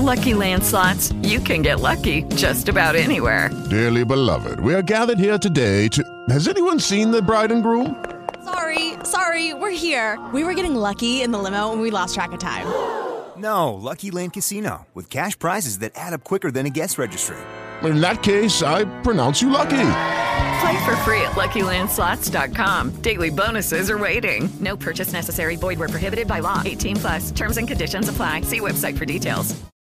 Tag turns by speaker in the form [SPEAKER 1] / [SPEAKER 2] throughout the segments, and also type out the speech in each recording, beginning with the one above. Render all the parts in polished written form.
[SPEAKER 1] Lucky Land Slots, you can get lucky just about anywhere.
[SPEAKER 2] Dearly beloved, we are gathered here today to... Has anyone seen the bride and groom?
[SPEAKER 3] Sorry, we're here. We were getting lucky in the limo and we lost track of time.
[SPEAKER 4] No, Lucky Land Casino, with cash prizes that add up quicker than a guest registry.
[SPEAKER 2] In that case, I pronounce you lucky.
[SPEAKER 1] Play for free at LuckyLandSlots.com. Daily bonuses are waiting. No purchase necessary. Void where prohibited by law. 18+. Terms and conditions apply. See website for details.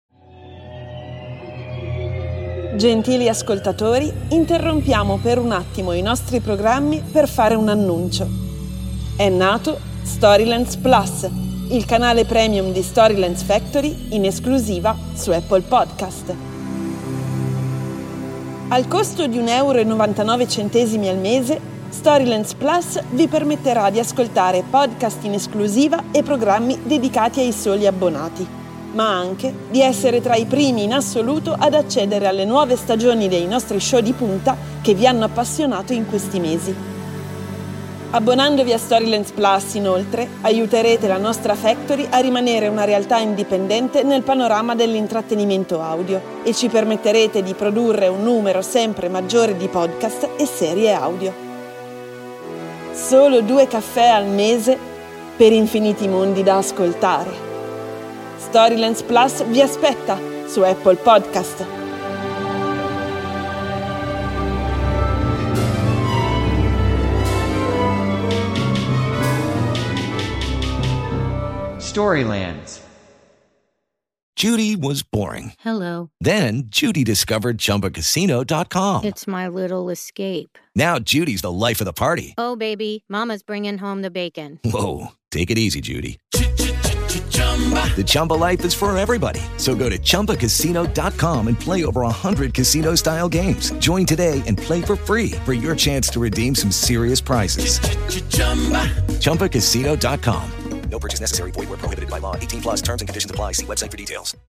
[SPEAKER 5] Gentili ascoltatori, interrompiamo per un attimo i nostri programmi per fare un annuncio. È nato Storylands Plus, il canale premium di Storylands Factory in esclusiva su Apple Podcast. Al costo di €1,99 al mese, Storylands Plus vi permetterà di ascoltare podcast in esclusiva e programmi dedicati ai soli abbonati, ma anche di essere tra i primi in assoluto ad accedere alle nuove stagioni dei nostri show di punta che vi hanno appassionato in questi mesi. Abbonandovi a Storylands Plus, inoltre, aiuterete la nostra Factory a rimanere una realtà indipendente nel panorama dell'intrattenimento audio e ci permetterete di produrre un numero sempre maggiore di podcast e serie audio. Solo 2 caffè al mese per infiniti mondi da ascoltare. Storylands Plus vi aspetta su Apple Podcast.
[SPEAKER 6] Storylands.
[SPEAKER 7] Judy was boring.
[SPEAKER 8] Hello.
[SPEAKER 7] Then Judy discovered ChumbaCasino.com.
[SPEAKER 8] It's my little escape.
[SPEAKER 7] Now Judy's the life of the party.
[SPEAKER 8] Oh, baby, mama's bringing home the bacon.
[SPEAKER 7] Whoa, take it easy, Judy. The Chumba life is for everybody. So go to ChumbaCasino.com and play over 100 casino-style games. Join today and play for free for your chance to redeem some serious prizes. ChumbaCasino.com.
[SPEAKER 9] No purchase necessary. Void where prohibited by law. 18+. Terms and conditions apply. See website for details.